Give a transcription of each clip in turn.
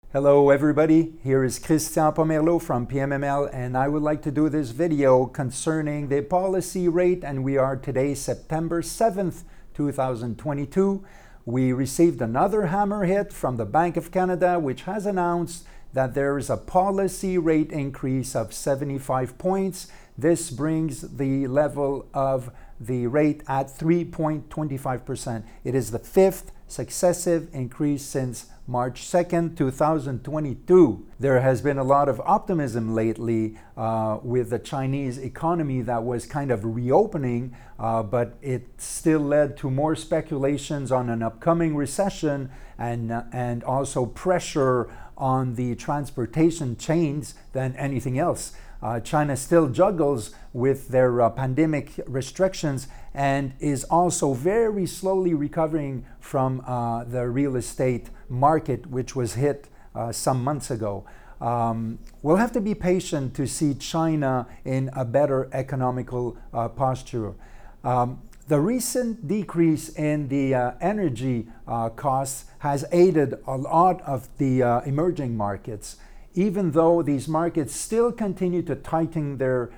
Hello everybody, here is Christian Pomerleau from PMML, and I would like to do this video concerning the policy rate, and we are today September 7th, 2022. We received another hammer hit from the Bank of Canada, which has announced that there is a policy rate increase of 75 points. This brings the level of the rate at 3.25%. It is the fifth successive increase since March 2nd, 2022. There has been a lot of optimism lately with the Chinese economy that was kind of reopening, but it still led to more speculations on an upcoming recession and also pressure on the transportation chains than anything else. China still juggles with their pandemic restrictions and is also very slowly recovering from the real estate market, which was hit some months ago. We'll have to be patient to see China in a better economical posture. The recent decrease in the energy costs has aided a lot of the emerging markets, even though these markets still continue to tighten their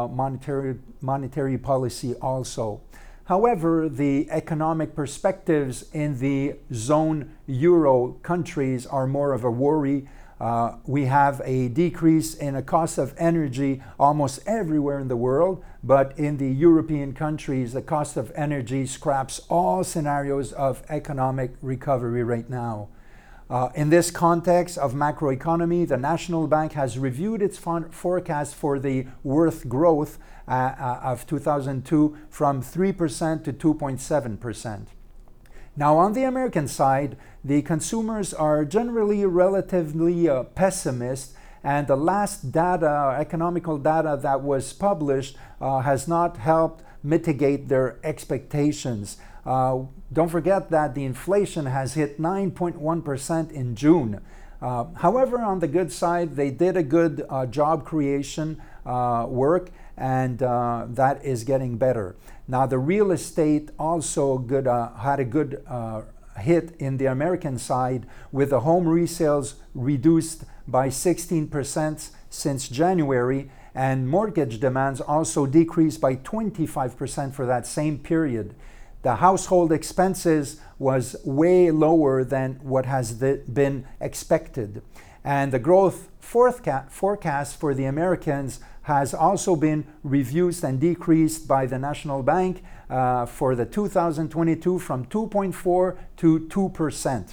monetary policy also. However, the economic perspectives in the zone euro countries are more of a worry. We have a decrease in the cost of energy almost everywhere in the world, but in the European countries, the cost of energy scraps all scenarios of economic recovery right now. In this context of macroeconomy, the National Bank has reviewed its forecast for the worth growth of 2002 from 3% to 2.7%. Now, on the American side, the consumers are generally relatively pessimist, and the last data, economical data that was published has not helped mitigate their expectations. Don't forget that the inflation has hit 9.1% in June. However, on the good side, they did a good job creation work, and that is getting better. Now, the real estate also had a good hit in the American side, with the home resales reduced by 16% since January, and mortgage demands also decreased by 25% for that same period. The household expenses was way lower than what has been expected. And the growth forecast for the Americans has also been reduced and decreased by the National Bank for the 2022 from 2.4 to 2%.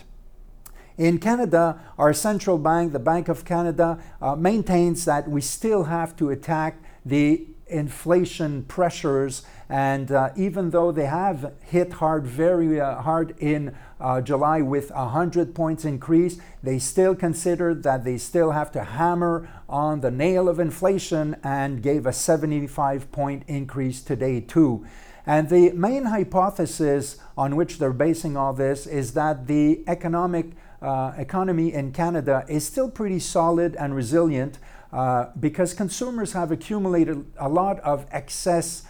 In Canada, our central bank, the Bank of Canada, maintains that we still have to attack the inflation pressures, and even though they have hit very hard in July with a 100 points increase, they still consider that they still have to hammer on the nail of inflation and gave a 75-point increase today too. And the main hypothesis on which they're basing all this is that the economy in Canada is still pretty solid and resilient because consumers have accumulated a lot of excess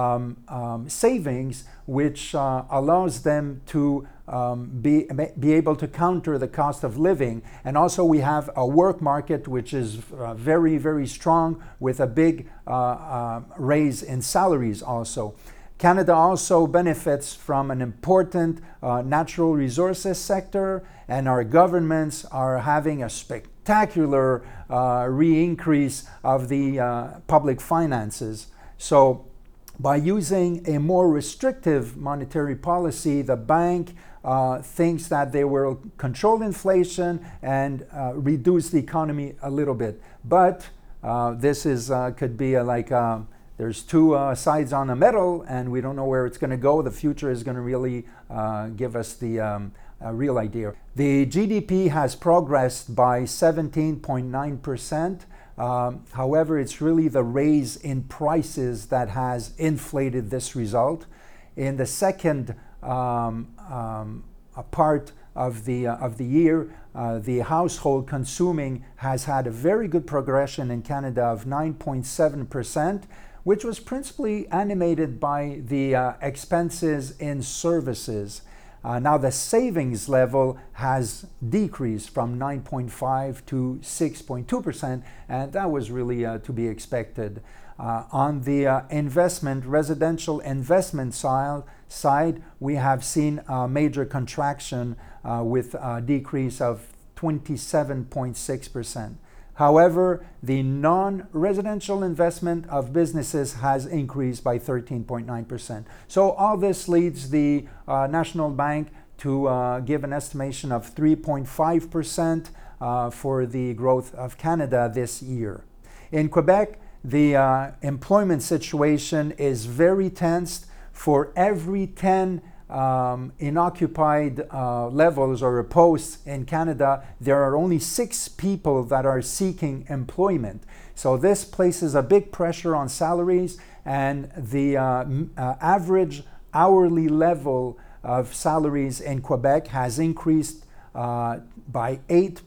savings, which allows them to be able to counter the cost of living. And also we have a work market which is very, very strong, with a big raise in salaries also. Canada also benefits from an important natural resources sector, and our governments are having a spectacular re-increase of the public finances. So by using a more restrictive monetary policy, the bank thinks that they will control inflation and reduce the economy a little bit. But this could be there's two sides on a medal, and we don't know where it's going to go. The future is going to really give us the real idea. The GDP has progressed by 17.9%. However, it's really the raise in prices that has inflated this result. In the second part of the year, the household consuming has had a very good progression in Canada of 9.7%, which was principally animated by the expenses in services. Now the savings level has decreased from 9.5 to 6.2%, and that was really to be expected. On the residential investment side, we have seen a major contraction with a decrease of 27.6%. However, the non-residential investment of businesses has increased by 13.9%. So all this leads the National Bank to give an estimation of 3.5% for the growth of Canada this year. In Quebec, the employment situation is very tense. For every 10 inoccupied levels or posts in Canada, there are only 6 people that are seeking employment. So this places a big pressure on salaries, and the average hourly level of salaries in Quebec has increased by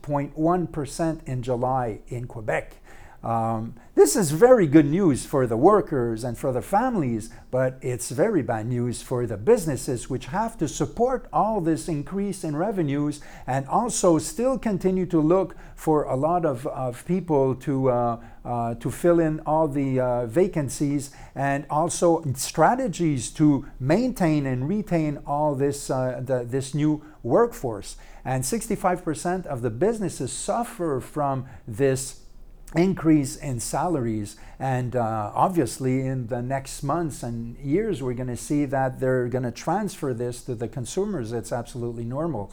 8.1% in July in Quebec. This is very good news for the workers and for the families, but it's very bad news for the businesses, which have to support all this increase in revenues and also still continue to look for a lot of people to fill in all the vacancies, and also strategies to maintain and retain all this this new workforce. And 65% of the businesses suffer from this increase in salaries, and obviously in the next months and years we're going to see that they're going to transfer this to the consumers. It's absolutely normal.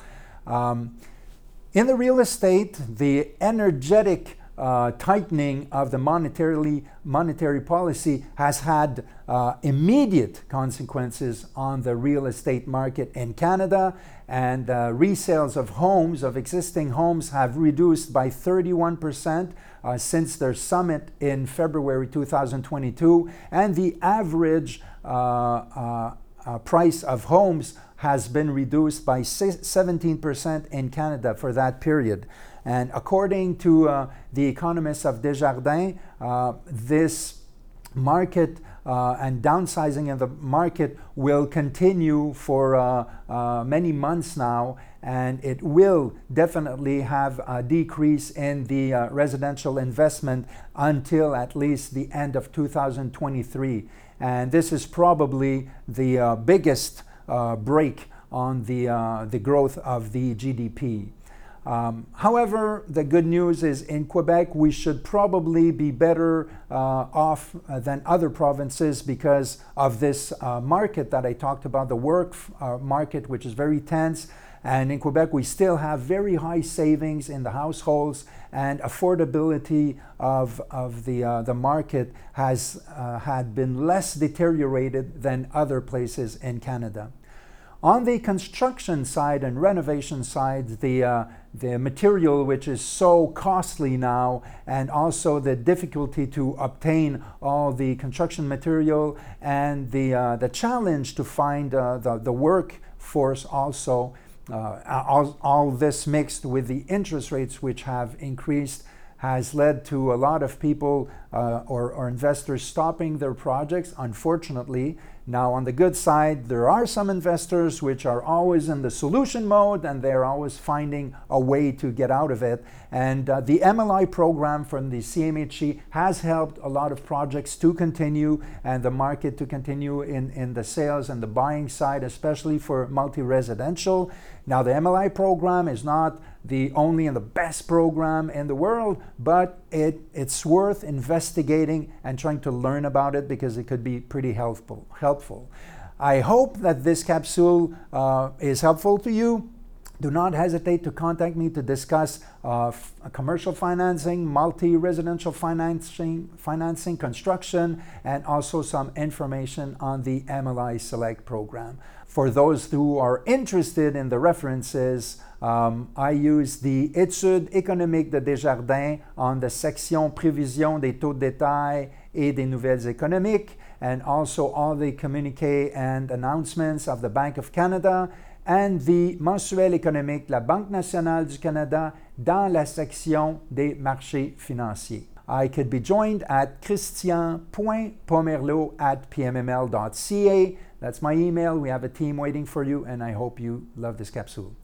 In the real estate, the energetic tightening of the monetary policy has had immediate consequences on the real estate market in Canada, and resales of homes, of existing homes, have reduced by 31% since their summit in February 2022, and the average price of homes has been reduced by 17% in Canada for that period. And according to the economists of Desjardins, this market and downsizing of the market will continue for many months now, and it will definitely have a decrease in the residential investment until at least the end of 2023. And this is probably the biggest break on the growth of the GDP. However, the good news is in Quebec, we should probably be better off than other provinces because of this market that I talked about, the work market, which is very tense. And in Quebec, we still have very high savings in the households, and affordability of the market has had been less deteriorated than other places in Canada. On the construction side and renovation side, the material, which is so costly now, and also the difficulty to obtain all the construction material, and the challenge to find the workforce also, all this mixed with the interest rates which have increased, has led to a lot of people or investors stopping their projects, unfortunately. Now, on the good side, there are some investors which are always in the solution mode, and they're always finding a way to get out of it. And the MLI program from the CMHC has helped a lot of projects to continue, and the market to continue in the sales and the buying side, especially for multi-residential. Now, the MLI program is not the only and the best program in the world, but it's worth investigating and trying to learn about it because it could be pretty helpful. I hope that this capsule is helpful to you. Do not hesitate to contact me to discuss commercial financing, multi-residential financing, construction, and also some information on the MLI Select program. For those who are interested in the references, I use the Études économiques de Desjardins on the section Prévision des taux de détail et des nouvelles économiques, and also all the communiqués and announcements of the Bank of Canada, and the Mensuel économique de la Banque nationale du Canada dans la section des marchés financiers. I could be joined at christian.pomerleau@pmml.ca. That's my email. We have a team waiting for you, and I hope you love this capsule.